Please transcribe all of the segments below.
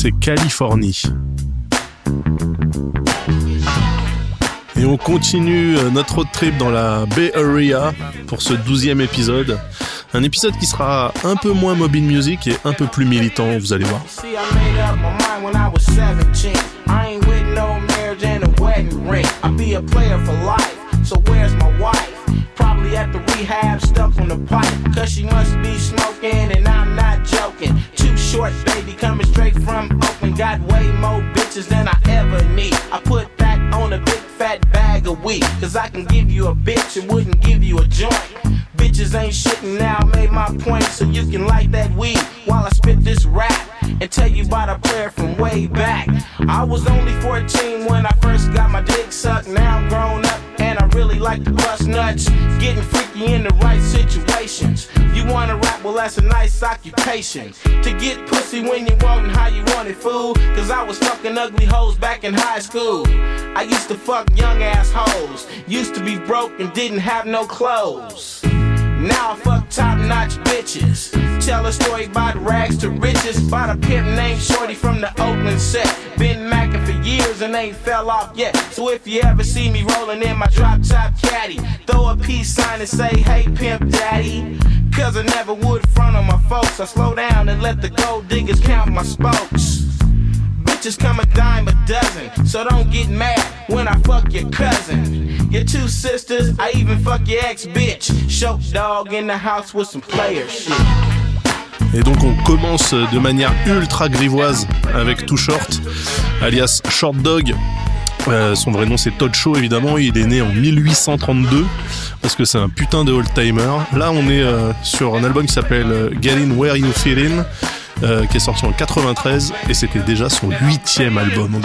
c'est Californie. Et on continue notre road trip dans la Bay Area pour ce 12e épisode. Un épisode qui sera un peu moins mobile music et un peu plus militant, vous allez voir. Probably at the rehab, stuck on the pipe, cause she must be smoking and I'm not joking. Too short, baby, coming straight from Oakland. Got way more bitches than I ever need. I put that on a big fat bag of weed, cause I can give you a bitch and wouldn't give you a joint. Bitches ain't shit and now I made my point, so you can light that weed while I spit this rap and tell you about a player from way back. I was only 14 when I first got my dick sucked. Now I'm grown up and I really like to bust nuts, getting freaky in the right situations. You wanna rap? Well, that's a nice occupation. To get pussy when you want and how you want it, fool. Cause I was fucking ugly hoes back in high school. I used to fuck young ass hoes. Used to be broke and didn't have no clothes. Now I fuck top-notch bitches. Tell a story about rags to riches, about a pimp named Shorty from the Oakland set. Been macking for years and ain't fell off yet. So if you ever see me rolling in my drop-top caddy, throw a peace sign and say, hey pimp daddy. Cause I never would front on my folks. I slow down and let the gold diggers count my spokes. Bitches come a dime a dozen, so don't get mad when I fuck your cousin, your two sisters, I even fuck your ex-bitch. Show dog in the house with some player shit. Et donc on commence de manière ultra grivoise avec Too Short, alias Short Dog. Son vrai nom c'est Todd Shaw évidemment, il est né en 1832 parce que c'est un putain de old-timer. Là on est sur un album qui s'appelle Get In Where You Fit In, qui est sorti en 93 et c'était déjà son 8e album.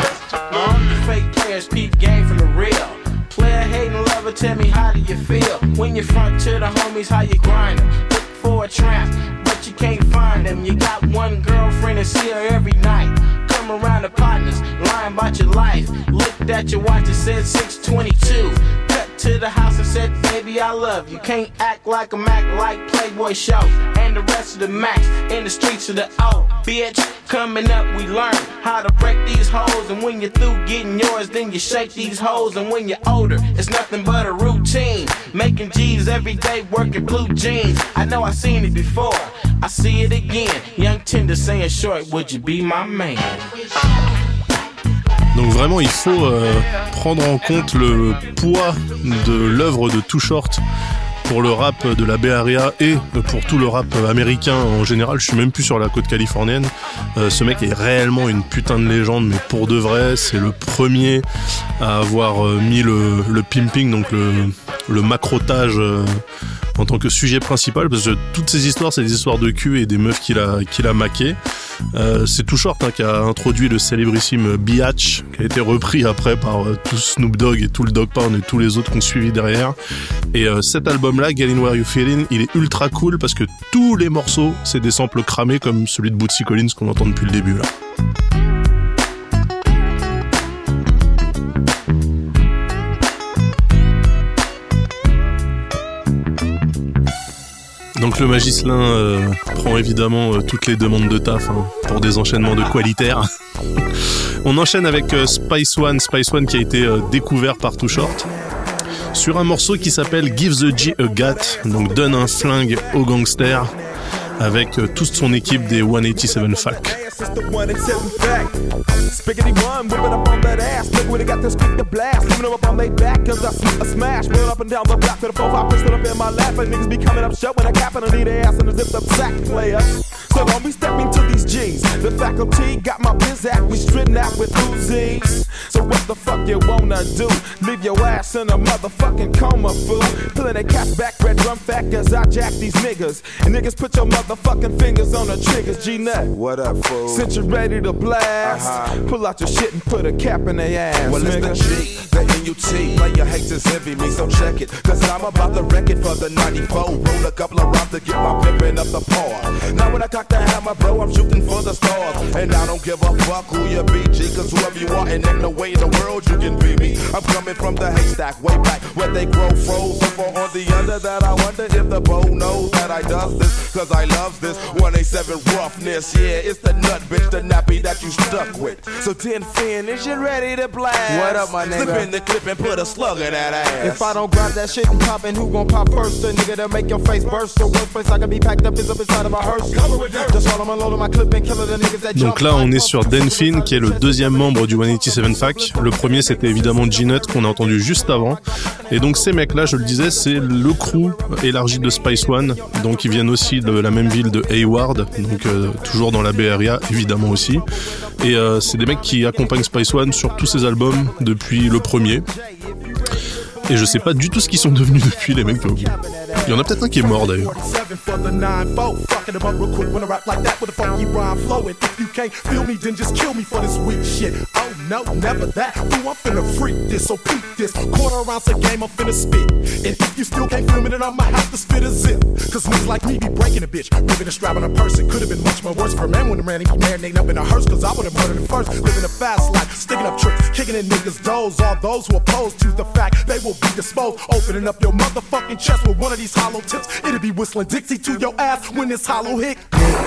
Tell me how do you feel when you front to the homies, how you grind them, look for a tramp, but you can't find them. You got one girlfriend and see her every night. Come around the partners, lying about your life. Looked at your watch and said 6:22. Cut to the house and said, baby, I love you. Can't act like a Mac like Playboy Show. And the rest of the Macs in the streets of the O. Bitch, coming up we learn how to break these hoes. And when you're through getting yours, then you shake these hoes. And when you're older, it's nothing but a routine. Making G's every day, working blue jeans. I know I seen it before, I see it again. Young Tender saying short, would you be my man? Donc vraiment il faut prendre en compte le poids de l'œuvre de Too Short pour le rap de la Bay Area et pour tout le rap américain en général. Je suis même plus sur la côte californienne. Ce mec est réellement une putain de légende, mais pour de vrai. C'est le premier à avoir mis le pimping, donc le macrotage en tant que sujet principal, parce que toutes ces histoires, c'est des histoires de cul et des meufs qu'il a maquées. C'est Too Short qui a introduit le célébrissime Biatch, qui a été repris après par tout Snoop Dogg et tout le Dogg Pound et tous les autres qui ont suivi derrière. Et cet album-là, Get In Where You Fit In, il est ultra cool parce que tous les morceaux, c'est des samples cramés comme celui de Bootsy Collins qu'on entend depuis le début là. Donc le Magislin prend évidemment toutes les demandes de taf pour des enchaînements de qualitaires. On enchaîne avec Spice One qui a été découvert par Too Short sur un morceau qui s'appelle Give the G a Gat, donc donne un flingue aux gangsters, avec toute son équipe des 187 Falk. Spiggity one, whip it up on that ass. Look when it got this quick to blast. Leaving them up on their back, cause I see a smash. Roll up and down the block with a 4-5 pistol up in my lap. And niggas be coming up shut when I cap and I need a ass in a zipped up sack, player. So don't be stepping to these G's. The faculty got my biz act, we stritten out with Uzis. So what the fuck you wanna do? Leave your ass in a motherfucking coma, fool. Pulling that cat back, red drum fat, cause I jack these niggas. And niggas put your motherfucking fingers on the triggers, G-Nut. What up, fool? Since you're ready to blast, pull out your shit and put a cap in their ass, well, nigga. It's the G, the N-U-T. Player haters envy me, so check it. Cause I'm about to wreck it for the 94. Roll a couple of rounds to get my pimpin' up the par. Now when I cock got the hammer, bro, I'm shooting for the stars. And I don't give a fuck who you be, G, cause whoever you are, and ain't no way in the world you can be me. I'm coming from the haystack, way back, where they grow froze. So far on the under that I wonder if the bow knows that I does this, cause I love this 187 roughness. Yeah, it's the nut, bitch, the nappy that you stuck with. So 10 fin, is you ready to blast? What up, my nigga? Slip in the clip and put a slug in that ass. If I don't grab that shit and pop in, who gon' pop first? The nigga that make your face burst. The worst place I can be packed up is up inside of a hearse. Just while I'm unloading my clip and killing the niggas that jump. Donc là, on est sur Dan Finn, qui est le deuxième membre du 187 Fac. Le premier, c'était évidemment G-Nut, qu'on a entendu juste avant. Et donc ces mecs-là, je le disais, c'est le crew élargi de Spice One. Donc ils viennent aussi de la même ville de Hayward, donc toujours dans la Bay Area, évidemment aussi. Et c'est des mecs qui accompagnent Spice One sur tous ses albums depuis le premier. Et je sais pas du tout ce qu'ils sont devenus depuis, les mecs. Il y en a peut-être un qui est mort d'ailleurs. No, never that. Ooh, I'm finna freak this, so peep this. Quarter ounce a game, I'm finna spit. And if you still can't feel me, then I'ma have to spit a zip. Cause niggas like me be breaking a bitch, ripping a strap on a person. Could've been much more worse for a man when the man he be marinating up in a hearse. Cause I would've murdered him first. Living a fast life, sticking up tricks, kicking in niggas' doors. All those who oppose to the fact they will be disposed. Opening up your motherfucking chest with one of these hollow tips. It'll be whistling Dixie to your ass when this hollow hit.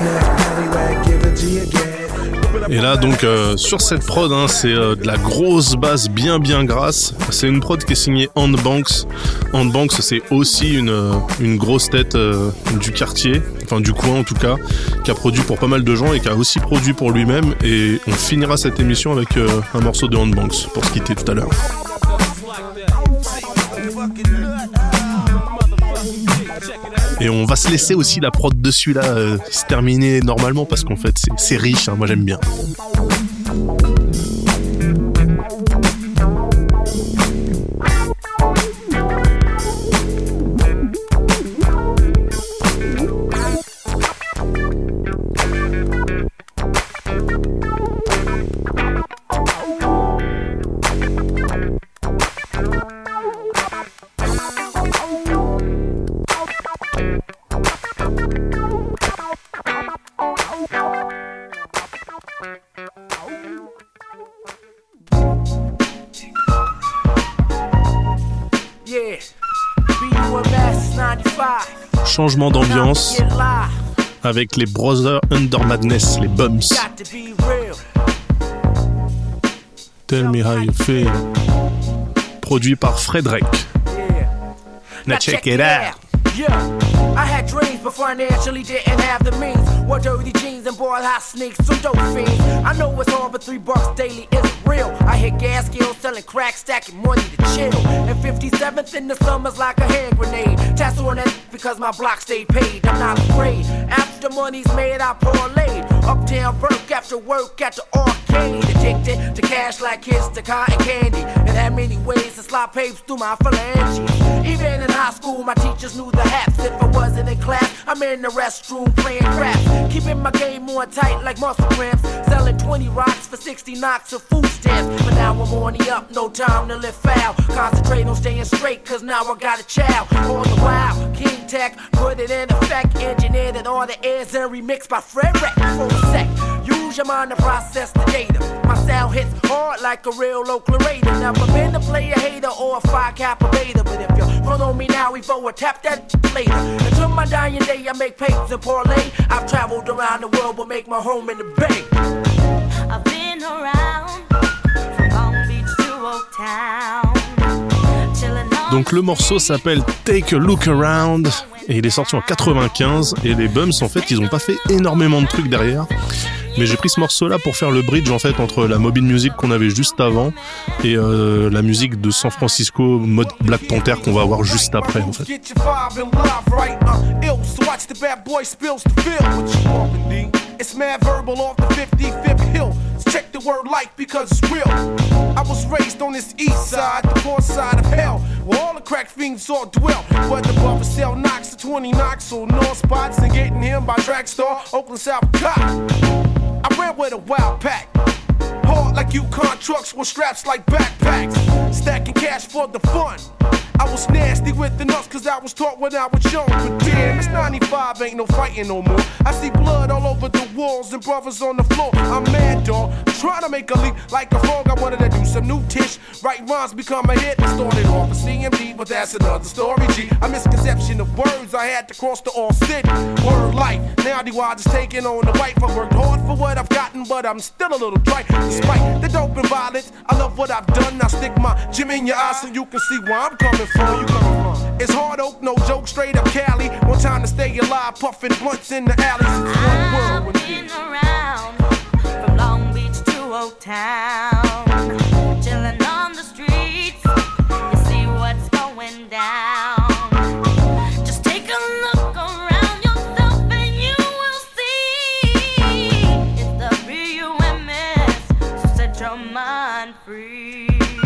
Et là donc sur cette prod c'est de la grosse basse bien grasse. C'est une prod qui est signée Ant Banks. Ant Banks c'est aussi une grosse tête du quartier, enfin du coin en tout cas, qui a produit pour pas mal de gens et qui a aussi produit pour lui-même. Et on finira cette émission avec un morceau de Ant Banks pour se quitter tout à l'heure. Et on va se laisser aussi la prod de celui-là se terminer normalement parce qu'en fait c'est riche, hein, moi j'aime bien. Changement d'ambiance avec les Brothers Under Madness, les Bums. Tell me how you feel. Produit par Fred Drake. Now check it out. I had dreams, but financially didn't have the means. Wore dirty jeans and bought hot sneaks, some dope fiends. I know it's hard, but $3 daily isn't real. I hit gas skills, selling crack, stacking money to chill. And 57th in the summer's like a hand grenade. Tassel on that because my block stayed paid. I'm not afraid. After money's made, I parlayed. Uptown work after work at the arcade. Addicted to cash like kids to cotton candy. And had many ways to slide papers through my phalanges. Even in high school, my teachers knew the haps. If I wasn't in class, I'm in the restroom playing craps. Keeping my game more tight like muscle cramps. Selling 20 rocks for 60 knocks of food stamps. But now I'm on the up, no time to live foul. Concentrate on staying straight, cause now I got a child. All the while, King Tech put it in effect. Engineered and all the airs and remixed by Fred Wreck. For a sec, use your mind to process the data. My sound hits hard like a real local raider. Never been a player hater or a 5 Kappa beta. But if you front on me now, we forward tap that later. Until my dying day, I make papers and parlay. I've traveled around the world, but make my home in the Bay. I've been around from Long Beach to Old Town. Donc le morceau s'appelle Take a Look Around et il est sorti en 95 et les Bums en fait ils ont pas fait énormément de trucs derrière. Mais j'ai pris ce morceau-là pour faire le bridge en fait entre la Mobile Music qu'on avait juste avant et la musique de San Francisco mode Black Panther qu'on va avoir juste après en fait. It's mad verbal off the 55th hill. Check the word life because it's real. I was raised on this east side, the poor side of hell, where all the crack fiends all dwell. But the buffer sell knocks to 20 knocks on north spots and getting him by track star, Oakland, South Cop. I ran with a wild pack. Hard like Yukon trucks with straps like backpacks. Stacking cash for the fun. I was nasty with the nuts cause I was taught when I was young. But damn, it's 95, ain't no fighting no more. I see blood all over the walls and brothers on the floor. I'm mad, dog. I'm trying to make a leap like a frog. I wanted to do some new tish. Write rhymes, become a hit. I started off with CMD, but that's another story, G. A misconception of words, I had to cross the all city. Word life, now the wide is taking on the wife. I worked hard for what I've gotten, but I'm still a little trite. Despite the dope and violence, I love what I've done. Now stick my gym in your eye so you can see where I'm coming from. It's hard oak, no joke, straight up Cali. One time to stay alive, puffing blunts in the alleys. I've been around from Long Beach to Old Town, chilling on the streets. You see what's going down. Just take a look around yourself and you will see it's the B.U.M.S. So set your mind free.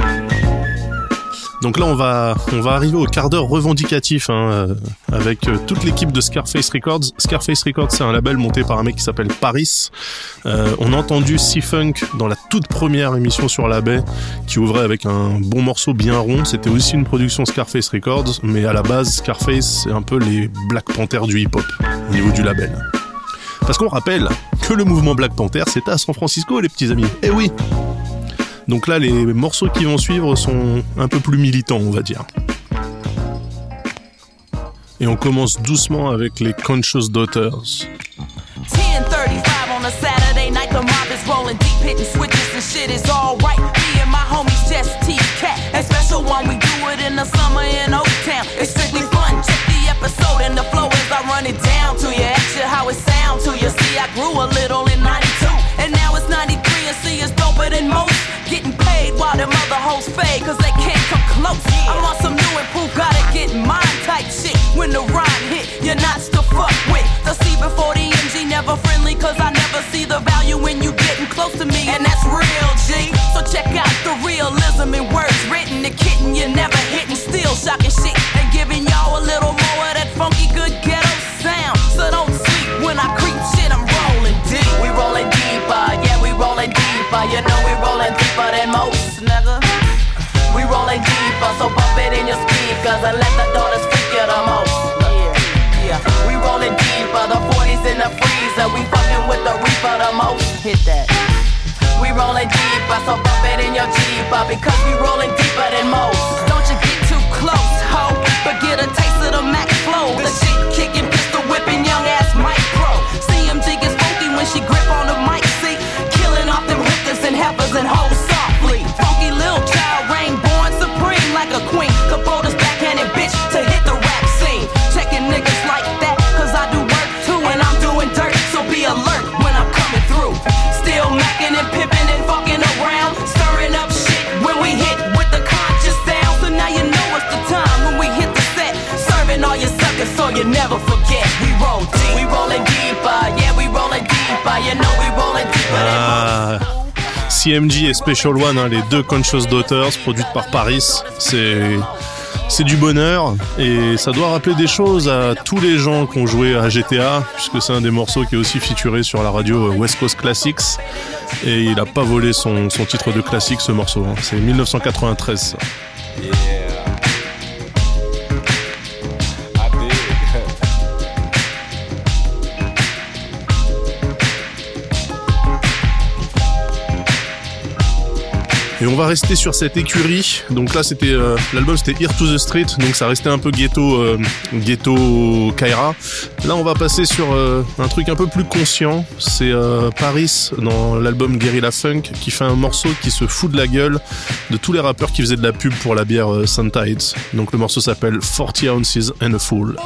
Donc là, on va arriver au quart d'heure revendicatif avec toute l'équipe de Scarface Records. Scarface Records, c'est un label monté par un mec qui s'appelle Paris. On a entendu C-Funk dans la toute première émission sur la baie, qui ouvrait avec un bon morceau bien rond. C'était aussi une production Scarface Records, mais à la base, Scarface, c'est un peu les Black Panthers du hip-hop au niveau du label. Parce qu'on rappelle que le mouvement Black Panther, c'était à San Francisco, les petits amis. Eh oui! Donc là, les morceaux qui vont suivre sont un peu plus militants, on va dire. Et on commence doucement avec les Conscious Daughters. 10:35 on a Saturday night, the mob is rolling deep, hitting switches and shit is all right. Me and my homies just T-Cat, and special one we do it in the summer in Oaktown. It's strictly fun, check the episode and the flow as I run it down to you. Ask you how it sound to you. See, I grew a little in 92, and now it's 93 and see it's doper than most. Getting paid while them other hoes fade, cause they can't come close. I'm on some new and proof, gotta get mine type shit. When the rhyme hit, you're not to fuck with. The C before the MG, never friendly, cause I never see the value when you getting close to me, and that's real, G. So check out the realism in words written, the kitten you never hitting, still shocking shit, and giving y'all a little more of that funky good ghetto sound. So don't sleep when I creep shit, I'm rolling deep. We rolling deeper, yeah, we rolling deeper. You know we rolling deeper than most, nigga. We rolling deeper, so bump it in your speakers and let the daughters freak you the most. Yeah, we rolling deeper, the 40s in the freezer. We fucking with the reaper the most. Hit that. We rolling deeper, so bump it in your Jeeper, because we rolling deeper than most. Don't you get too close, ho, but get a taste of the Mac flow. The shit kicking, pistol whipping, young ass Mike Pro. CMG gets funky when she grip on the mic, see, killing off them hookers and heifers and hoes softly. Funky little child, reign born supreme like a queen. Capota's backhanded bitch to hit the rap scene. Checking niggas like that, cause I do work too, and I'm doing dirt, so be alert when I'm coming through. Still macking and pimping and fucking around, stirring up shit when we hit with the conscious sound. So now you know it's the time when we hit the set, serving all your suckers so you never forget. We roll deep, we rolling deeper, yeah, we rolling deeper, you know we rolling deeper than most. CMG et Special One, les deux Conscious Daughters, produites par Paris, c'est du bonheur et ça doit rappeler des choses à tous les gens qui ont joué à GTA, puisque c'est un des morceaux qui est aussi featuré sur la radio West Coast Classics, et il a pas volé son titre de classique, ce morceau, c'est 1993 ça. Yeah. I did. Et on va rester sur cette écurie. Donc là, c'était l'album, c'était Here to the Street, donc ça restait un peu ghetto Kaira. Là, on va passer sur un truc un peu plus conscient. C'est Paris dans l'album Guerrilla Funk qui fait un morceau qui se fout de la gueule de tous les rappeurs qui faisaient de la pub pour la bière Suntides. Donc le morceau s'appelle 40 Ounces and a Fool.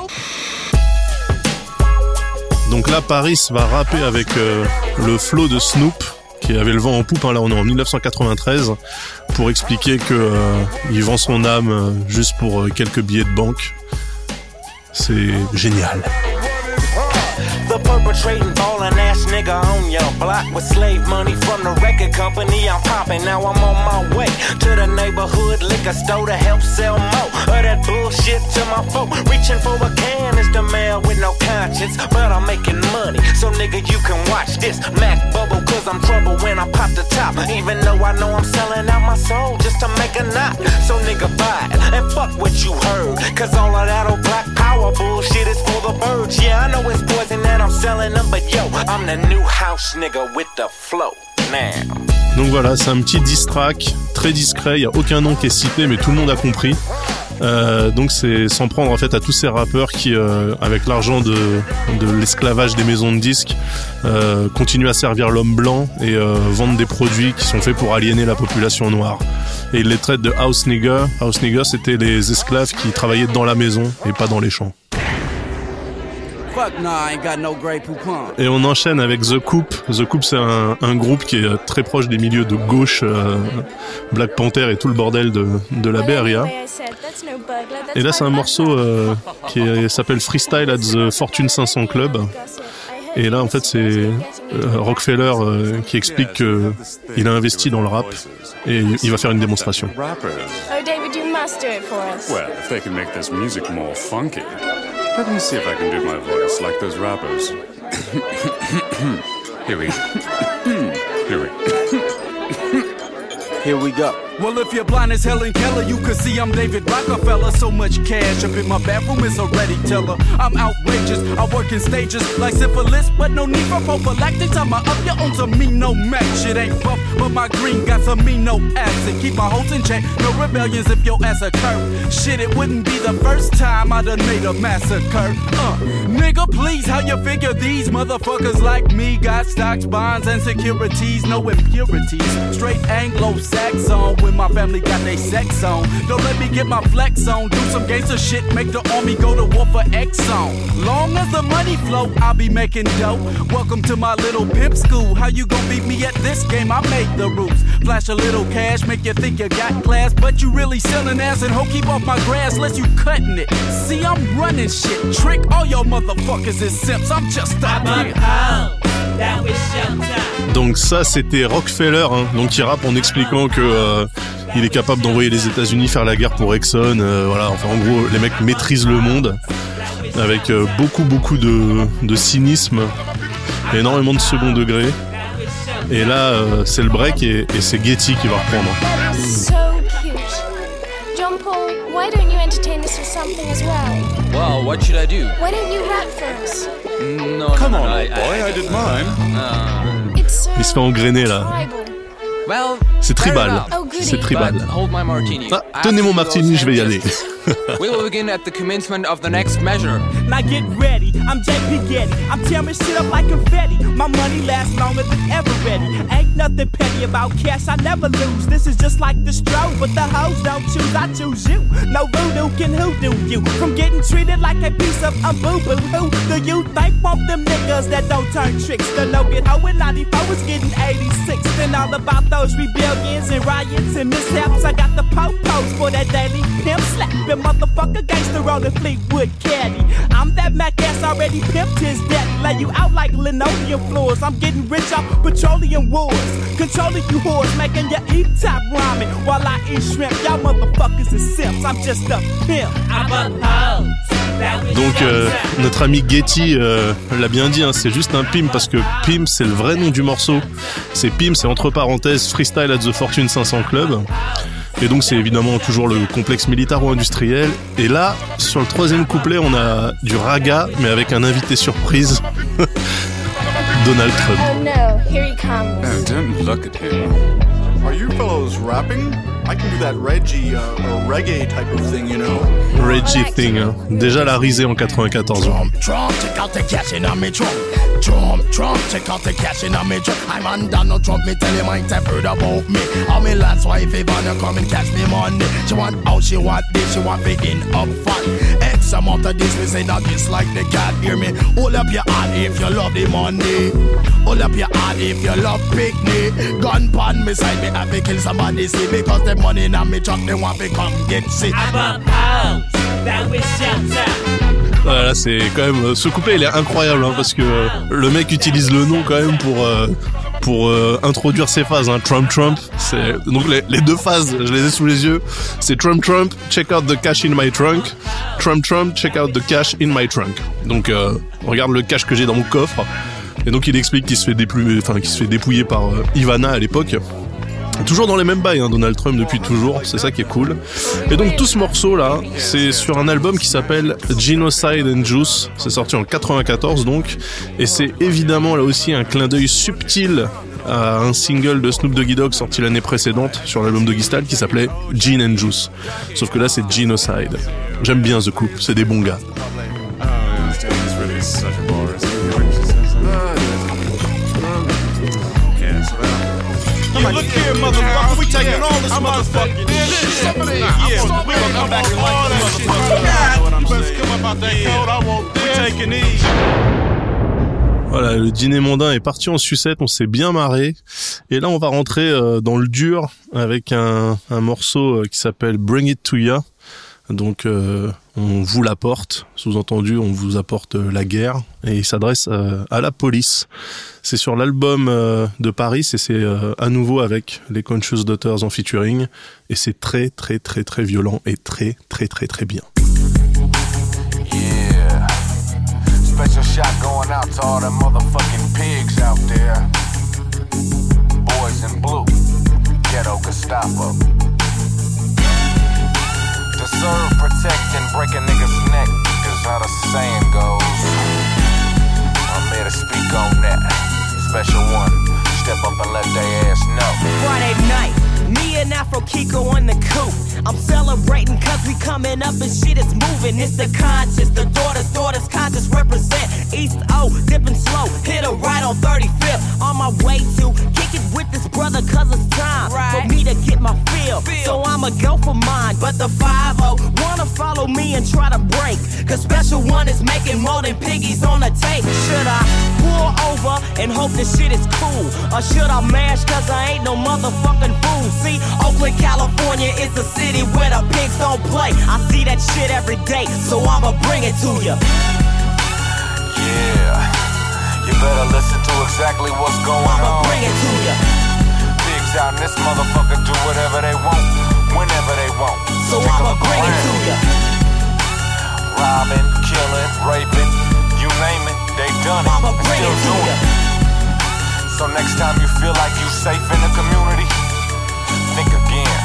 Donc là, Paris va rapper avec le flow de Snoop, qui avait le vent en poupe, là on est en 1993, pour expliquer que il vend son âme juste pour quelques billets de banque. C'est génial. The perpetrating ballin' ass nigga on your block with slave money from the record company. I'm popping, now I'm on my way to the neighborhood liquor store to help sell more of that bullshit to my folk. Reaching for a can is the man with no conscience, but I'm making money, so nigga you can watch this Mac bubble, cause I'm trouble when I pop the top. Even though I know I'm selling out my soul just to make a knot. So nigga buy it and fuck what you heard, cause all of that old black power bullshit is for the birds. Yeah, I know it's poison that I'm selling them, but yo, I'm the new house nigga with the flow now. Donc voilà, c'est un petit diss track très discret, il n'y a aucun nom qui est cité mais tout le monde a compris. Donc c'est s'en prendre en fait à tous ces rappeurs qui, avec l'argent de l'esclavage des maisons de disques, continuent à servir l'homme blanc et vendent des produits qui sont faits pour aliéner la population noire. Et ils les traitent de house nigger. House nigger, c'était les esclaves qui travaillaient dans la maison et pas dans les champs. Et on enchaîne avec The Coup. The Coup, c'est un groupe qui est très proche des milieux de gauche, Black Panther et tout le bordel de la Bay Area. Et là, c'est un morceau qui s'appelle Freestyle at the Fortune 500 Club. Et là, en fait, c'est Rockefeller qui explique qu'il a investi dans le rap et il va faire une démonstration. Oh, David, you must do it for us. Well, if they can make this music more funky. Let me see if I can do my voice like those rappers. Here we go. Well, if you're blind as Helen Keller, you can see I'm David Rockefeller. So much cash up in my bathroom is already teller. I'm outrageous, I work in stages like syphilis, but no need for prophylactics. I'm up your own to me, no match. Shit ain't buff, but my green got some amino acid. Keep my hoes in check, no rebellions if your ass a curve. Shit, it wouldn't be the first time I done made a massacre. Nigga, please, how you figure these motherfuckers like me got stocks, bonds, and securities, no impurities. Straight Anglo-Saxon. When my family got they sex on. Don't let me get my flex on. Do some gangster shit, make the army go to war for Exxon. Long as the money flow, I'll be making dough. Welcome to my little pimp school. How you gon' beat me at this game? I made the rules. Flash a little cash, make you think you got class, but you really selling ass and ho, keep off my grass, less you cutting it. See, I'm running shit. Trick all your motherfuckers is simps. I'm just out here. Donc ça c'était Rockefeller, hein, donc qui rappe en expliquant que il est capable d'envoyer les États-Unis faire la guerre pour Exxon. Voilà, enfin en gros les mecs maîtrisent le monde avec beaucoup de cynisme, énormément de second degré. Et là c'est le break et c'est Getty qui va reprendre. So cute. John Paul, why don't you entertain us with something as well? Well, what should I do? Why don't you rap for us? No, Come no, on, I old boy, did mine. Il se fait engrainer là. Well, c'est tribal. Oh, C'est tribal. Hold my martini. Ah, tenez mon martini, je vais y aller. We will begin at the commencement of the next measure. Now get ready, I'm JP Getty. I'm tearing shit up like confetti. My money lasts longer than ever ready. Ain't nothing petty about cash, I never lose. This is just like the stroke, but the hoes don't choose, I choose you. No voodoo can hoodoo you from getting treated like a piece of boo-boo. Who do you think want them niggas that don't turn tricks? The no get hoe in 94 was getting 86. Then all about those rebellions and riots and mishaps. I got the po-pos for that daily pimp slap. Motherfucker gangster on the Fleetwood caddy. I'm that Mac ass already pimped his daddy. Lay you out like linoleum floors. I'm getting rich off petroleum wars. Controlling you whores, making you eat top ramen while I eat shrimp. Y'all motherfuckers is simps. I'm just a pimp. I'm a hoe. Donc notre ami Getty l'a bien dit, hein, c'est juste un pimp parce que pimp c'est le vrai nom du morceau. C'est pimp, c'est entre parenthèses Freestyle at the Fortune 500 Club. Et donc c'est évidemment toujours le complexe militaro-industriel. Et là, sur le troisième couplet, on a du raga, mais avec un invité surprise, Donald Trump. Oh no, here he comes. Oh, don't look at him. Are you fellows rapping? I can do that Reggie or reggae type of thing, you know. Reggie thing, hein. Déjà la risée en 94. Trump, check out the cash in me trunk. Trump, check out the cash in me trunk. I'm on Donald Trump, me tell him I ain't heard about me. All me last wife, if I come and catch me money. She want out, she want this, she want begin up front. X amount of this, me say that this like the cat, hear me. Hold up your hand if you love the money. Hold up your hand if you love picnic. Gun pan beside me, I be kill somebody, see, because the money in me truck, they want to come get sick. Voilà, Voilà, c'est quand même ce couplet il est incroyable hein, parce que le mec utilise le nom quand même pour introduire ses phases hein. Trump, c'est donc les deux phases, je les ai sous les yeux. C'est Trump, check out the cash in my trunk. Trump, check out the cash in my trunk. Donc regarde le cash que j'ai dans mon coffre. Et donc il explique qu'il se fait dépouiller par Ivana à l'époque. Toujours dans les mêmes bails, hein, Donald Trump depuis toujours, c'est ça qui est cool. Et donc tout ce morceau là, c'est sur un album qui s'appelle Genocide and Juice, c'est sorti en 94 donc, et c'est évidemment là aussi un clin d'œil subtil à un single de Snoop Doggy Dogg sorti l'année précédente sur l'album Doggy Style qui s'appelait Gin and Juice. Sauf que là c'est Genocide. J'aime bien The Coupe, c'est des bons gars. Yeah, look here, motherfucker, we taking all this motherfucking shit. Yeah, we gonna come back and like this motherfucker. You better come about that code, I want this. We taking these. Voilà, le dîner mondain est parti en sucette, on s'est bien marré. Et là, on va rentrer dans le dur avec un morceau qui s'appelle Bring It To Ya. Donc, on vous l'apporte, sous-entendu, on vous apporte la guerre. Et il s'adresse à la police. C'est sur l'album de Paris et c'est à nouveau avec les Conscious Daughters en featuring. Et c'est très, très, très, très violent et très, très, très, très bien. Yeah. Special shot going out to all the motherfucking pigs out there. Boys in blue. Ghetto Gestapo. To serve, protect, and break a nigga's neck is how the saying goes. I'm here to speak on that. Special one, step up and let they ass know. Friday night, me and Afro Kiko on the coupe. I'm celebrating cause we coming up and shit is moving. It's the conscious, the daughters conscious represent. East O, dipping slow, hit a right on 35th. On my way to kick it with this brother cause it's time for me to get my feel. So I'ma go for mine, but the 5-0 wanna follow me and try to break. Cause Special One is making more than piggies on the tape. Should I pull over and hope this shit is cool? Or should I mash cause I ain't no motherfucking fool? See, Oakland, California is the city where the pigs don't play. I see that shit every day, so I'ma bring it to ya. Yeah, you better listen to exactly what's going on. I'ma bring it to ya. Pigs out in this motherfucker do whatever they want, whenever they want. So I'ma bring it to ya. Robbing, killing, raping, you name it, they done it. I'ma bring it to ya. So next time you feel like you safe in the community, think again.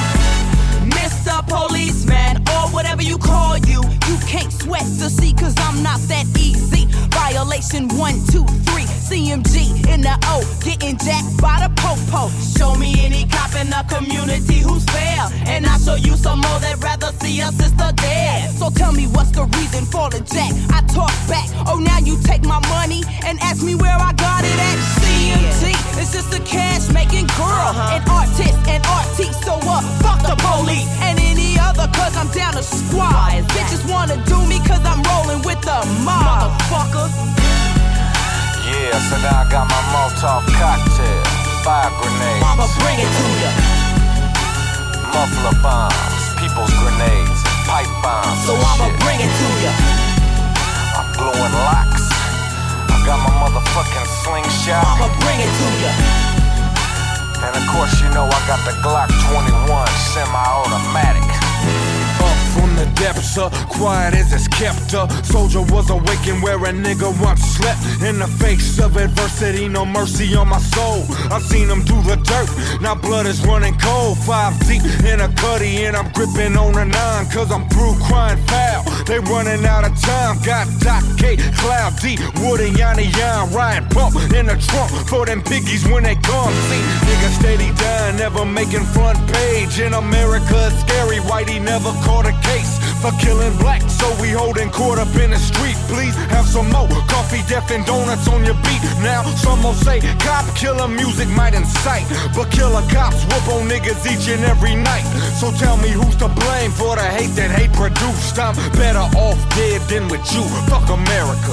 Mr. Policeman, or whatever you call you can't sweat to see cause I'm not that easy. Violation 1, 2, 3, CMG in the O, getting jacked by the po-po. Show me any cop in the community who's fair, and I'll show you some more that rather see a sister dead. So tell me what's the reason for the jack? I talk back, oh now you take my money and ask me where I got it at. CMT, it's just a cash making girl, an artist, an artiste, so fuck the police and any other cause I'm down to squad. Bitches wanna do me cause I'm rolling with the mob, motherfucker. Yeah, so now I got my Molotov cocktail, fire grenades. I'ma bring it to ya. Muffler bombs, people's grenades, pipe bombs. So I'ma bring it to ya. I'm blowing locks. I got my motherfucking slingshot. I'ma bring it to ya. And of course you know I got the Glock 21 semi-automatic. Up from the depths, quiet as it's kept. Soldier was awakened where a nigga once slept. In the face of adversity, no mercy on my soul. I've seen him through the dirt, now blood is running cold. 5 deep in a cutty and I'm gripping on a 9 cause I'm through crying foul. They running out of time, got Doc K, Cloud D, Wood and Yanni Yan, Ryan Pump in the trunk for them piggies when they come. See, niggas steady dying, never making front page. In America it's scary, Whitey never caught a case for killing black, so we holding court up in the street. Please have some more coffee, death and donuts on your beat. Now some will say cop killer music might incite, but killer cops whoop on niggas each and every night. So tell me who's to blame for the hate that hate produced. I'm better off dead than with you. Fuck America.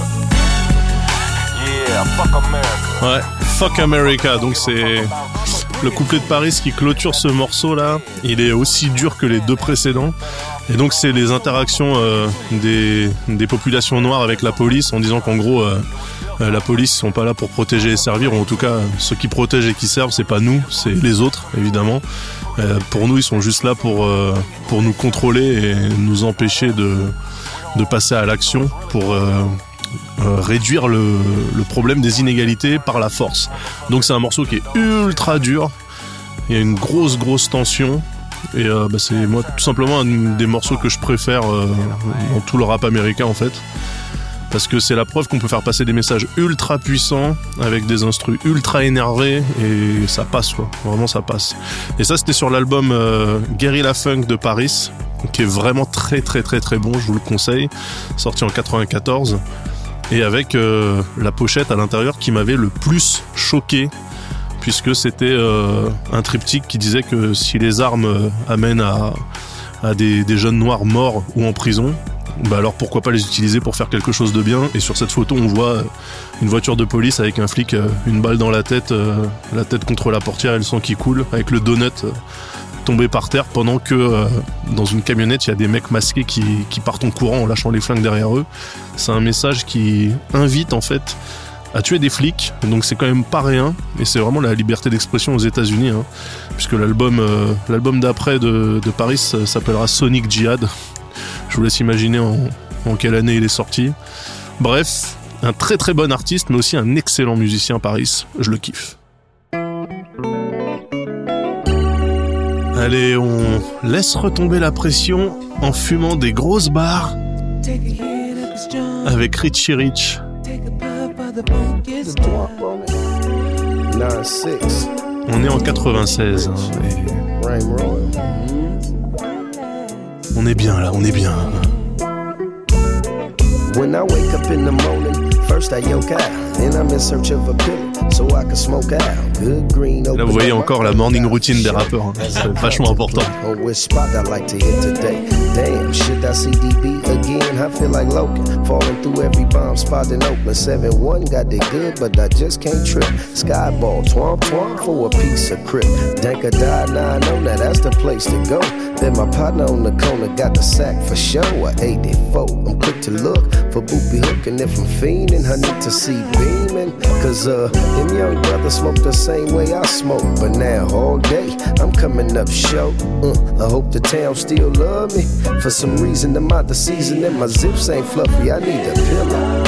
Yeah, fuck America. Ouais, fuck America. Donc c'est le couplet de Paris qui clôture ce morceau là. Il est aussi dur que les deux précédents. Et donc c'est les interactions des populations noires avec la police en disant qu'en gros la police ils sont pas là pour protéger et servir, ou en tout cas ceux qui protègent et qui servent c'est pas nous, c'est les autres évidemment. Pour nous ils sont juste là pour nous contrôler et nous empêcher de passer à l'action pour réduire le problème des inégalités par la force. Donc c'est un morceau qui est ultra dur, il y a une grosse tension. Et c'est moi tout simplement un des morceaux que je préfère dans tout le rap américain en fait, parce que c'est la preuve qu'on peut faire passer des messages ultra puissants avec des instrus ultra énervés et ça passe quoi, vraiment ça passe. Et ça c'était sur l'album Guerrilla Funk de Paris, qui est vraiment très bon, je vous le conseille, sorti en 94, et avec la pochette à l'intérieur qui m'avait le plus choqué, puisque c'était un triptyque qui disait que si les armes amènent à des jeunes noirs morts ou en prison, bah alors pourquoi pas les utiliser pour faire quelque chose de bien. Et sur cette photo on voit une voiture de police avec un flic, une balle dans la tête contre la portière et le sang qui coule, avec le donut tombé par terre, pendant que dans une camionnette il y a des mecs masqués qui partent en courant en lâchant les flingues derrière eux. C'est un message qui invite en fait à tuer des flics, donc c'est quand même pas rien, et c'est vraiment la liberté d'expression aux États-Unis, hein, puisque l'album d'après de Paris s'appellera Sonic Jihad. Je vous laisse imaginer en quelle année il est sorti. Bref, un très bon artiste, mais aussi un excellent musicien, Paris, je le kiffe. Allez, on laisse retomber la pression en fumant des grosses barres avec Richie Rich. On est en 96 hein, on est bien là, on est bien. When I wake up in the morning, first I yoke out, then I'm in search of a pillow so I can smoke out. Good green. Là vous voyez encore la morning routine des rappeurs, hein. C'est vachement important. Which spot I like to hit today? Damn, should I see DB again? I feel like Logan, falling through every bomb spot in Oakland. 7-1 got it good, but I just can't trip. Skyball, twomp for a piece of crip. Danka died, now I know that that's the place to go. Then my partner on the corner got the sack for show. A 84, I'm quick to look for Boopy Hook, and if I'm fiending, I need to see beaming. Cause them young brothers smoke the same way I smoke, but now all day I'm coming up short. I hope the town still love me. For some reason I'm out the season and my zips ain't fluffy, I need a pillow.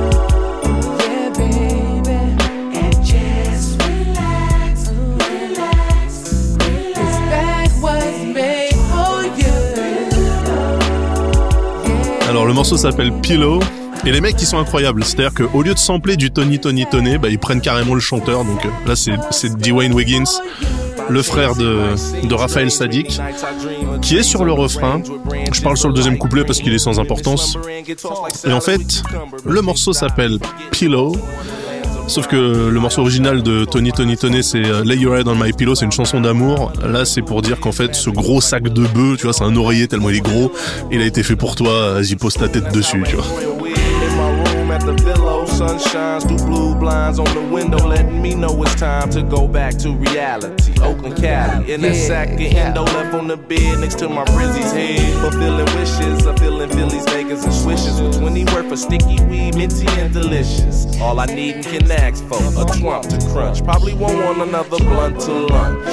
Alors le morceau s'appelle Pillow, et les mecs qui sont incroyables, c'est-à-dire qu'au lieu de sampler du Tony Toné, bah, ils prennent carrément le chanteur. Donc là c'est Dwayne Wiggins, le frère de Raphaël Saadiq, qui est sur le refrain. Je parle sur le deuxième couplet parce qu'il est sans importance. Et en fait le morceau s'appelle Pillow, sauf que le morceau original de Tony Toné c'est Lay Your Head on My Pillow, c'est une chanson d'amour. Là c'est pour dire qu'en fait ce gros sac de bœuf, tu vois, c'est un oreiller tellement il est gros, il a été fait pour toi, vas-y pose ta tête dessus, tu vois. At the pillow, sun shines through blue blinds on the window, letting me know it's time to go back to reality. Oakland, Cali, in that sack of endo left on the bed next to my Brizzy's head. Fulfilling wishes, I'm feeling Phillies, Vegas, and swishes with 20 worth for sticky weed, minty and delicious. All I need and can ask for, a twump to crunch. Probably won't want another blunt to lunch.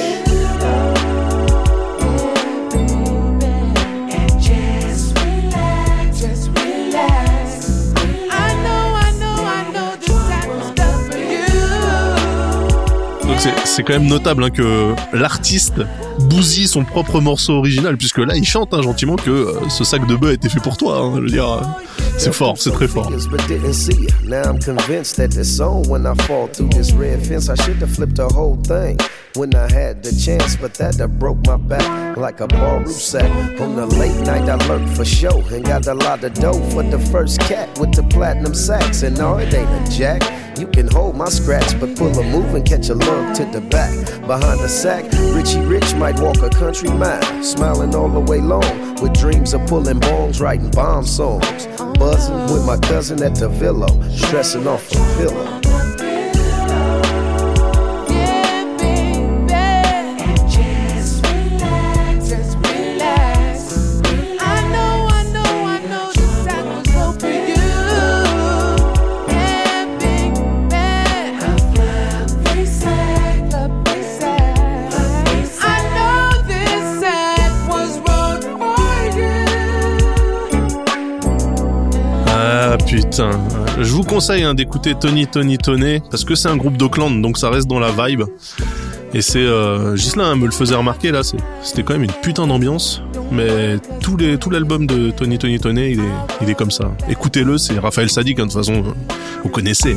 C'est quand même notable hein, que l'artiste bousille son propre morceau original, puisque là il chante hein, gentiment que ce sac de bœuf a été fait pour toi, hein, je veux dire, c'est fort, c'est très fort. When I had the chance, but that broke my back like a ballroom sack. On the late night I lurked for show and got a lot of dough for the first cat with the platinum sax. And no, it ain't a jack. You can hold my scratch, but pull a move and catch a lug to the back. Behind the sack, Richie Rich might walk a country mile, smiling all the way long, with dreams of pulling bombs, writing bomb songs. Buzzing with my cousin at the Villa, stressing off a pillow. putain. Je vous conseille d'écouter Tony Toné parce que c'est un groupe d'Auckland, donc ça reste dans la vibe. Et c'est Ghislain me le faisait remarquer là, c'était quand même une putain d'ambiance. Mais tout l'album de Tony Toné, il est comme ça. Écoutez-le, c'est Raphaël Saadiq, de toute façon, vous connaissez.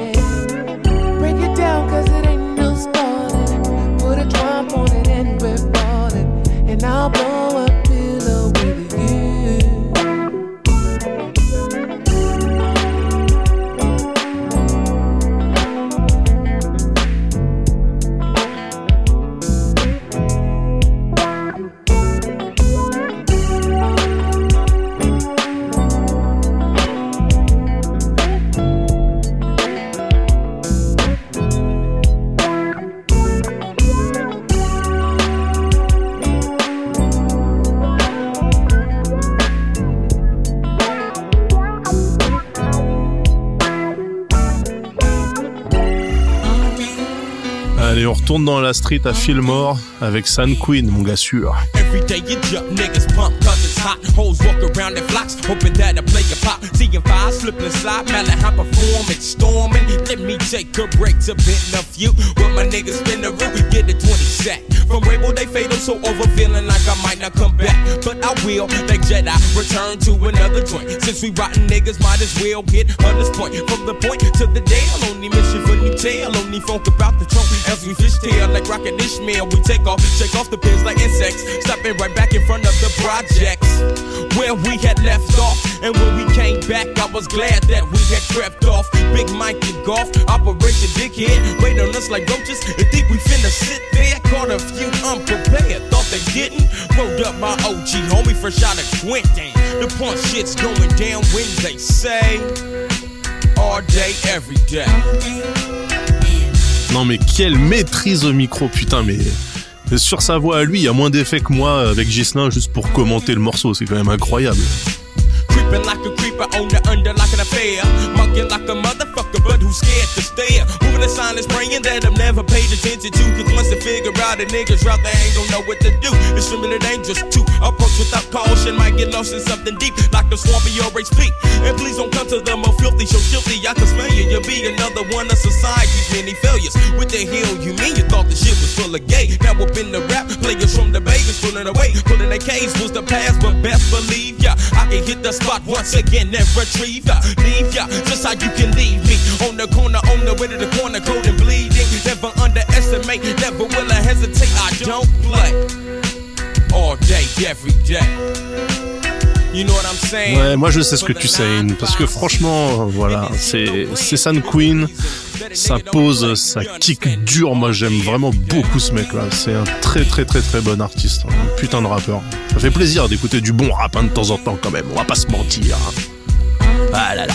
Allez, on retourne dans la street à Fillmore avec San Queen, mon gars sûr. Every day you jump, niggas pump cause it's hot. Hoes walk around in flocks, hoping that I play a pop. Seeing five, slip and slide, Malachi performing, storming. Let me take a break to bend a few. When my niggas spin the root, we get a 20 sack. From Rainbow, they fade, I'm so over, feeling like I might not come back. But I will, like Jedi, return to another joint. Since we rotten niggas, might as well get Hunter's point. From the point to the Dale, only mission for new tail. Only funk about the trunk, as we fishtail like Rocket Ishmael. We take off the pins like insects. Stopping right back in front of the projects where we had left off. And when we came back, I was glad that we had crept off. Big Mike and Golf, Operation Dickhead. Wait on us like roaches and think we finna sit there. Caught a few unprepared, thought they didn't. Rolled up my OG homie fresh out of Quentin. The point shit's going down when they say all day, every day. Non mais quelle maîtrise au micro, putain, mais sur sa voix à lui, il y a moins d'effets que moi avec Ghislain juste pour commenter le morceau, c'est quand même incroyable. Creeping like a creeper on the under like an affair. Mugging like a motherfucker, but who's scared to stare? Moving the silence, praying that I've never paid attention to. Cause once they figure out a nigga's route, they ain't gon' know what to do. It's extremely dangerous to approach without caution. Might get lost in something deep, like the swampy or HP. And please don't come to the more filthy, so filthy I can smell you. You'll be another one of society's many failures. What the hell you mean? You thought the shit was full of gay? Now up in the rap, players from the Vegas pulling away. Pulling their K's was the past, but best believe ya, I can hit the spot once again and retrieve ya. Leave ya, just how you can leave me. On the corner, on the way to the corner, cold and bleeding. Never underestimate, never will I hesitate. I don't play all day, every day. You know what I'm saying? Ouais, moi je sais ce que tu sais, parce que franchement, voilà, c'est San Queen, ça pose, ça kick dur. Moi j'aime vraiment beaucoup ce mec-là. C'est un très très très très bon artiste, un putain de rappeur. Ça fait plaisir d'écouter du bon rap de temps en temps quand même. On va pas se mentir. Ah là là.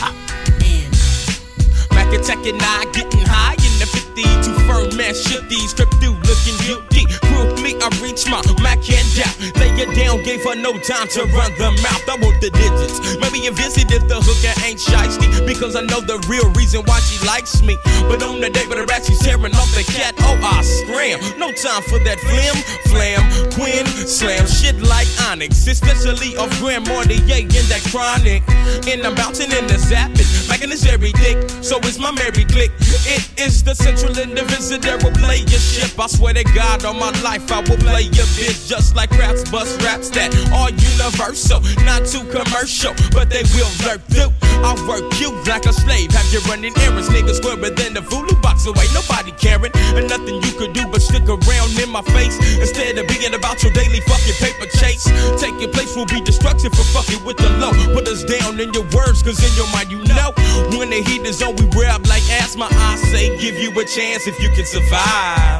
Mac attack and I getting high in the 50. Too firm man, shit these strip through looking guilty. Quickly I reach my Mac hand out. Lay it down, gave her no time to run the mouth. I want the digits. Maybe you visit if the hooker ain't shiesty. Because I know the real reason why she likes me. But on the day with the rat, she's tearing off the cat. Oh, I scram. No time for that flam. Quinn, slam shit like Onyx. Especially off Grand Mortier in that chronic. And I'm bouncing in the zapping. Making this every dick. So it's my merry click. It is the central indivisible that will play your ship. I swear to God on my life I will play your bitch. Just like raps, bust raps that are universal. Not too commercial, but they will lurk through. I work you like a slave. Have you running errands, niggas squarer than the voodoo box away. Nobody caring, and nothing you could do but stick around in my face. Instead of being about your daily fucking paper chase. Taking place will be destruction for fucking with the low. Put us down in your words, cause in your mind you know. When the heat is on, we rap like asthma. I say give you a chance if you can survive.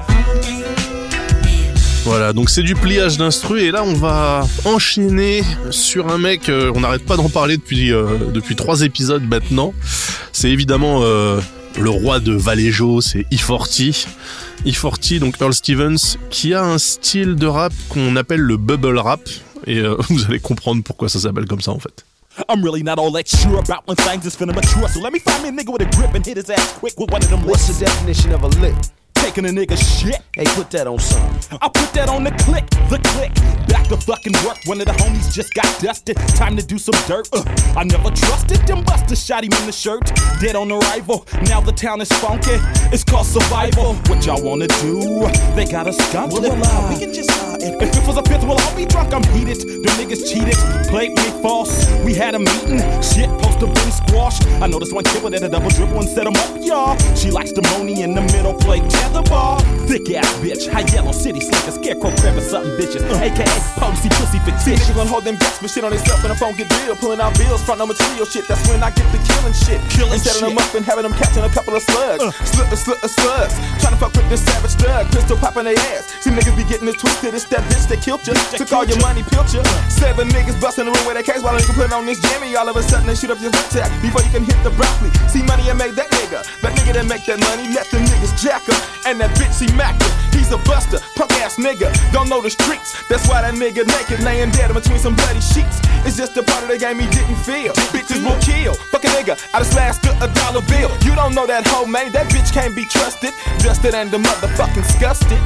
Voilà, donc c'est du pliage d'instru et là on va enchaîner sur un mec, on n'arrête pas d'en parler depuis 3 épisodes maintenant. C'est évidemment le roi de Vallejo, c'est E40. E40, donc Earl Stevens, qui a un style de rap qu'on appelle le bubble rap et vous allez comprendre pourquoi ça s'appelle comme ça en fait. I'm really not all that sure about when things is finna mature. So let me find me a nigga with a grip and hit his ass quick with one of them licks. What's the definition of a lick? taking a nigga shit. Hey, put that on something. I put that on the click. Back to fucking work. One of the homies just got dusted. Time to do some dirt. I never trusted them busters. Shot him in the shirt. Dead on arrival. Now the town is funky. It's called survival. What y'all wanna do? They got us skunked. Well, we can just if it was a fifth, we'll all be drunk. I'm heated. The niggas cheated. Played me false. We had a meeting. Shit, supposed to been squashed. I noticed one kid with a double dribble and set him up, y'all. She likes the money in the middle, play tetherball. Thick ass bitch, high yellow city slicker, scarecrow crab or something bitches. AKA potency pussy fictitious. Niggas gon' hold them gas, but shit on themself and the phone get real. Pulling out bills, front no material shit. That's when I get the killing shit. And setting them up and having them catching a couple of slugs. Slugs. Trying to fuck with this savage thug. Pistol popping their ass. See niggas be getting it twisted. It's that bitch that killed you. Took all your money, pilch you. 7 niggas busting the room with their case while a nigga put on this jammy. All of a sudden they shoot up your attack before you can hit the broccoli. See money and make that nigga. That nigga that make that money, let them niggas jack up. And that bitch he mack him. He's a buster, punk ass nigga. Don't know the streets. That's why that nigga naked laying dead between some bloody sheets. It's just a part of the game he didn't feel. Bitches will kill. Fuck a nigga out of slash to a dollar bill. You don't know that hoe, man. That bitch can't be trusted. Dusted and the motherfucking disgusted.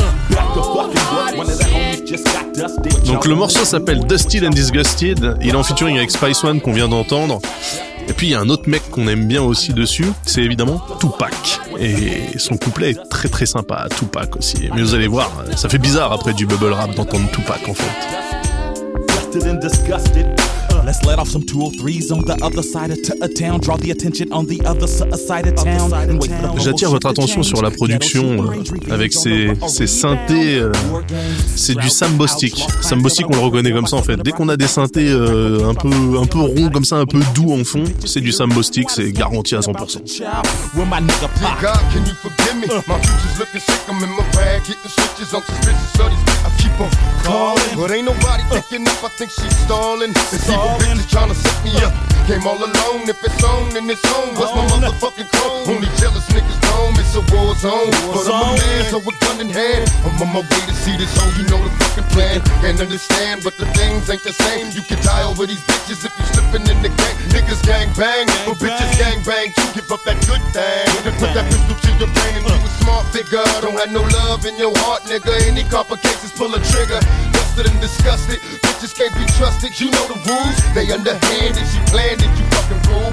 Donc le morceau s'appelle Dusted and Disgusted. Il est en featuring avec Spice One qu'on vient d'entendre. Et puis il y a un autre mec qu'on aime bien aussi dessus, c'est évidemment Tupac. Et son couplet est très très sympa, Tupac aussi. Mais vous allez voir, ça fait bizarre après du bubble rap d'entendre Tupac en fait. Dusted and disgusted. Let's let off some 203s on the other side of town. Draw the attention on the other side of town. J'attire votre attention sur la production avec ces synthés. C'est du Sambostic. Sambostic, on le reconnaît comme ça en fait. Dès qu'on a des synthés un peu ronds comme ça, un peu doux en fond, c'est du Sambostic, c'est garanti à 100%. Bitches tryna set me up. Came all alone. If it's on, then it's on. What's my motherfucking chrome? Only jealous niggas know it's a war zone. But I'm a man, so with gun in hand. I'm on my way to see this home. You know the fucking plan. Can't understand, but the things ain't the same. You can die over these bitches if you slipping in the gang. Niggas gang bang, but bitches gang bang too. Give up that good thing. And put that pistol to your brain and you a smart figure. Don't have no love in your heart, nigga. Any complications, pull a trigger. Dusted and disgusted. Bitches can't be trusted. You know the rules. They underhanded. You planned it. You fucking rule.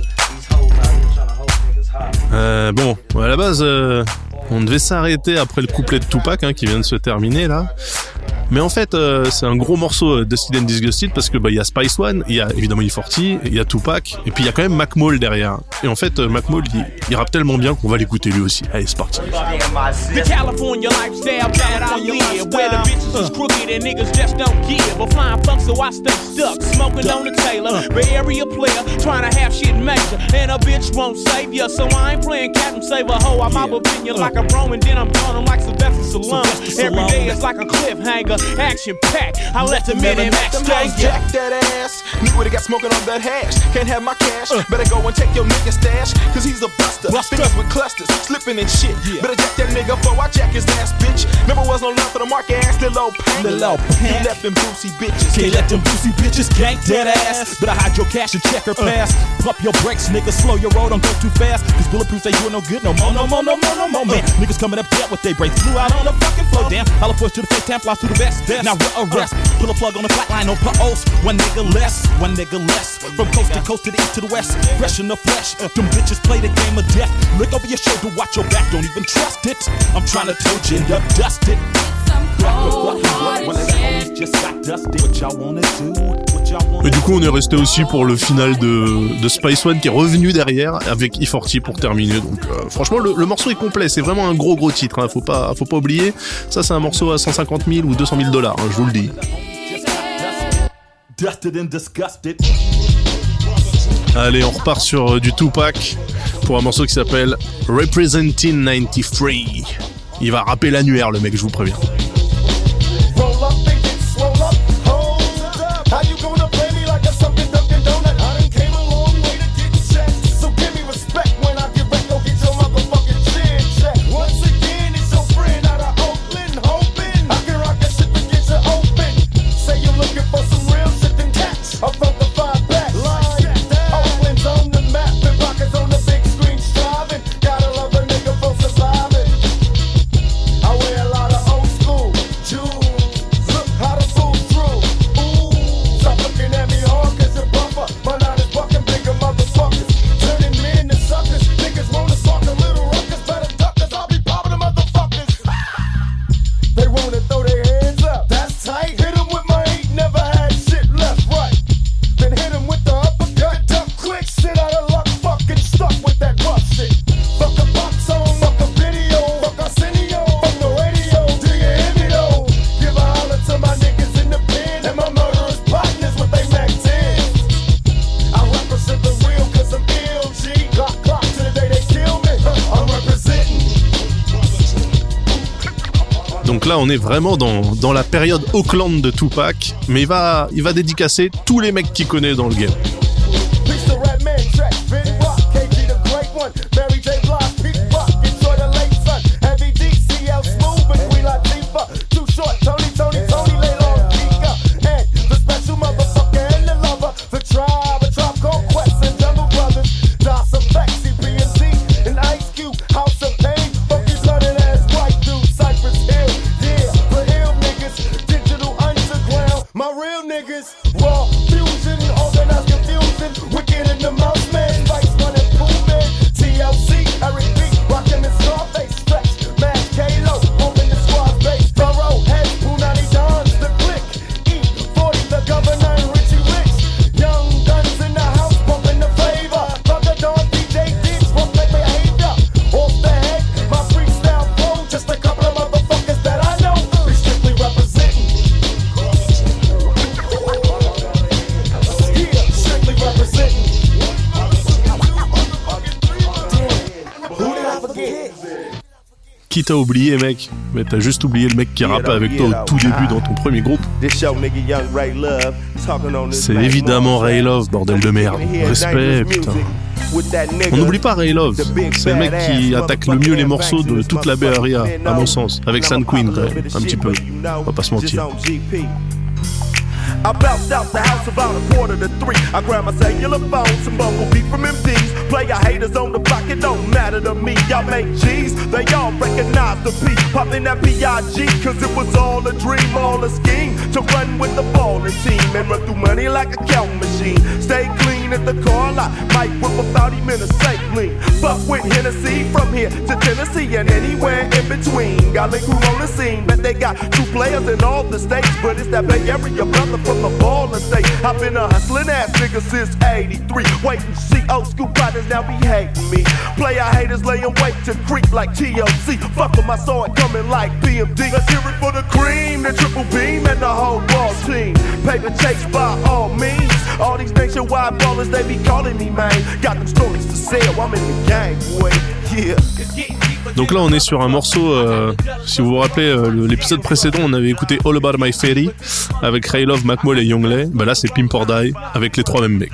Bon, à la base, on devait s'arrêter après le couplet de Tupac qui vient de se terminer là. Mais en fait, c'est un gros morceau Dusted and Disgusted parce que il y a Spice One, il y a évidemment E40, il y a Tupac, et puis il y a quand même Mac Maul derrière. Et en fait, Mac Maul, il rappe tellement bien qu'on va l'écouter lui aussi. Allez, c'est parti. The California lifestyle that I live, where the bitches is crooked and niggas just don't give a flying fuck, so I stay stuck, smoking on the Taylor, Bay Area player, trying to have shit major, and a bitch won't save ya, so I ain't playing Captain Save a hoe. I'm out opinion like a bro, and then I'm gone, I'm like Sylvester Stallone. Every day it's like a cliffhanger. Action packed. I let the minute max jack that ass. Nigga would've got smoking on that hash. Can't have my cash. Better go and take your nigga stash. Cause he's a buster. Fingers with clusters. Slipping and shit. Better jack that nigga before I jack his ass, bitch. Never was no love for the market ass. Little pain. You left them boozy bitches. Can't let them boozy bitches gank that ass. Better hide your cash and check her pass. Pump your brakes, nigga. Slow your road. Don't go too fast. Cause bulletproof say you ain't no good. No more, man. Niggas coming up dead with they brains. Flew out on the fucking floor. Damn. I'll push to the fake time. Flies to the best. Now we're arrest. Pull a plug on the flatline, no pause. One nigga less. From coast to the east to the west. Fresh in the flesh. Them bitches play the game of death. Look over your shoulder, watch your back, don't even trust it. I'm trying to told you end up dusted. Et du coup on est resté aussi pour le final de Spice One qui est revenu derrière avec E40 pour terminer. Donc franchement le morceau est complet, c'est vraiment un gros titre, faut pas oublier. Ça c'est un morceau à 150 000 ou 200 000 $, je vous le dis. Allez, on repart sur du Tupac pour un morceau qui s'appelle Representing 93. Il va rapper l'annuaire le mec, je vous préviens. là, on est vraiment dans la période Oakland de Tupac, mais il va dédicacer tous les mecs qu'il connaît dans le game. Qui t'a oublié, mec? Mais t'as juste oublié le mec qui rappait avec toi au tout début dans ton premier groupe. C'est évidemment Ray Love, bordel de merde. Respect, putain. On n'oublie pas Ray Love. C'est le mec qui attaque le mieux les morceaux de toute la Bay Area, à mon sens. Avec San Queen, quand même, un petit peu. On va pas se mentir. I bounced out the house about 2:45. I grabbed my cellular phone, some bumblebee from MDs. Player haters on the block, it don't matter to me. Y'all make G's, they all recognize the P. Popping that P.I.G. cause it was all a dream, all a scheme. To run with the ballin' team and run through money like a count machine. Stay clean at the car lot, might whip a 30-minute safe lean. Fuck with Hennessy from here to Tennessee and anywhere in between. Got a crew on the scene, bet they got 2 players in all the states. But it's that Bay Area brother from the ballin' state. I've been a hustlin' ass nigga since 83. Waiting to see old school partners now be hating me. Player haters layin' wait to creep like TLC. Fuck with my sword coming like BMD. Let's hear it for the cream, the triple beam, and the whole ball team. Paper chase by all means. All these nationwide ballers, they be calling me, man. Got them stories to sell, I'm in the game, boy. Yeah. Donc là on est sur un morceau, si vous vous rappelez l'épisode précédent on avait écouté All About My Fairy avec Ray Love, Mac Mall et Youngley. Bah là c'est Pimp or Die avec les 3 mêmes mecs.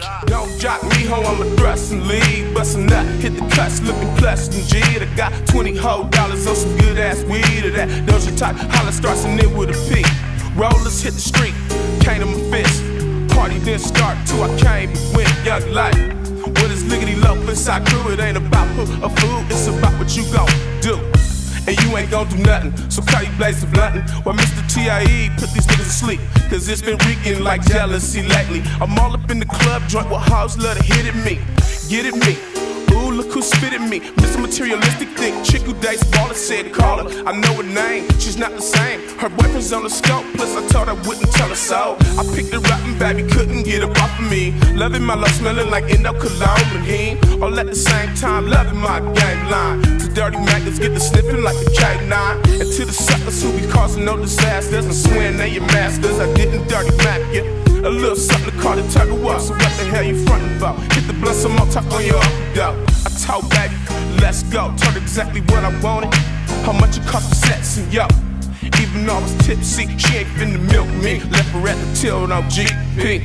Rollers hit the street, came to my fist. Party didn't start till I came and went young life. With his lickety low inside crew, it ain't about a food, it's about what you gon' do. And you ain't gon' do nothing, so call you blazing bluntin'. While Mr. T.I.E. put these niggas to sleep, cause it's been reeking like jealousy lately. I'm all up in the club joint with hoes love to hit at me, get at me. Ooh, look who spit at me. Mr. Materialistic thick chick who dates baller said call her. I know her name, she's not the same. Her boyfriend's on the scope, plus I told her I wouldn't tell her so. I picked her up and baby couldn't get her off of me. Loving my love, smelling like Indo Cologne and he. All at the same time, loving my game line. To dirty maggots get the sniffing like a K9. And to the suckers who be causing no disasters and swearing they your masters, I didn't dirty map you. A little something to call the tugger up. So what the hell you frontin' for? Hit the blunt some more, tuck on your dope. I told baby, let's go. Told exactly what I wanted. How much it cost to sex and yo. Even though I was tipsy, she ain't finna milk me. Left her at the till, no GP.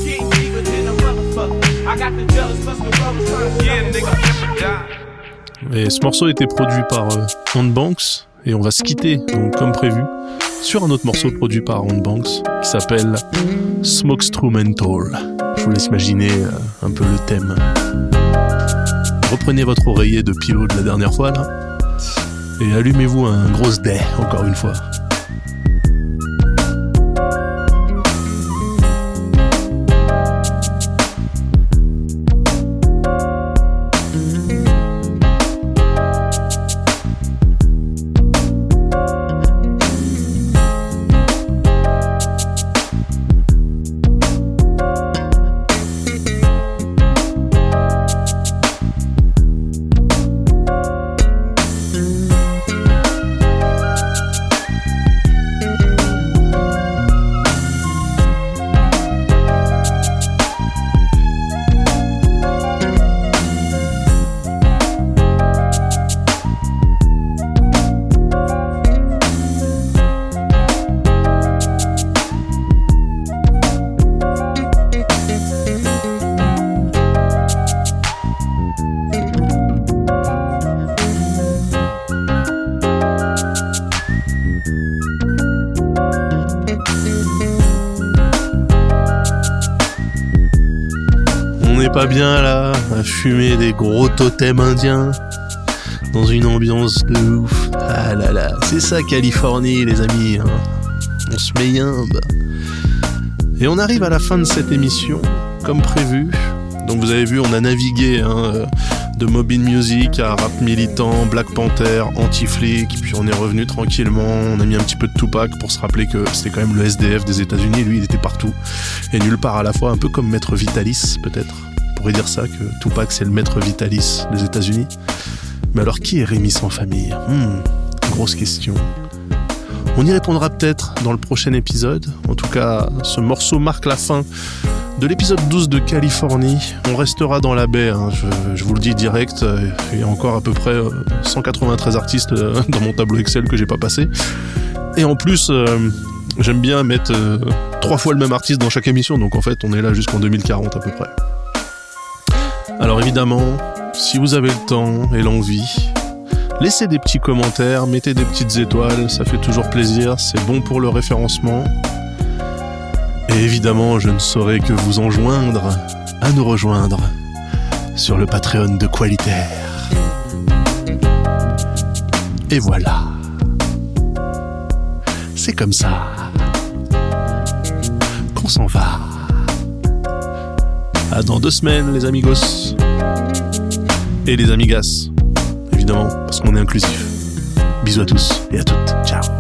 Et ce morceau était produit par On Banks. Et on va se quitter, donc comme prévu, sur un autre morceau produit par On Banks qui s'appelle Smokestrumental. Je vous laisse imaginer un peu le thème. Reprenez votre oreiller de pilote de la dernière fois là et allumez-vous un gros dé encore une fois. pas bien là, à fumer des gros totems indiens dans une ambiance de ouf. Ah là là, c'est ça Californie les amis, hein. On se met yimbe. Et on arrive à la fin de cette émission, comme prévu. Donc vous avez vu, on a navigué de Mob In Music à rap militant, Black Panther, anti-flic, puis on est revenu tranquillement, on a mis un petit peu de Tupac pour se rappeler que c'était quand même le SDF des États-Unis, lui il était partout et nulle part à la fois, un peu comme Maître Vitalis peut-être. On pourrait dire ça, que Tupac c'est le Maître Vitalis des États-Unis. Mais alors qui est Rémi sans famille ? Grosse question. On y répondra peut-être dans le prochain épisode. En tout cas, ce morceau marque la fin de l'épisode 12 de Californie. On restera dans la baie, hein. Je vous le dis direct. Il y a encore à peu près 193 artistes dans mon tableau Excel que j'ai pas passé. Et en plus, j'aime bien mettre 3 fois le même artiste dans chaque émission. Donc en fait, on est là jusqu'en 2040 à peu près. Alors évidemment, si vous avez le temps et l'envie, laissez des petits commentaires, mettez des petites étoiles, ça fait toujours plaisir, c'est bon pour le référencement. Et évidemment, je ne saurais que vous enjoindre à nous rejoindre sur le Patreon de Qualitaire. Et voilà. C'est comme ça qu'on s'en va. À dans 2 semaines, les amigos. Et les amigas. Évidemment, parce qu'on est inclusif. Bisous à tous et à toutes. Ciao.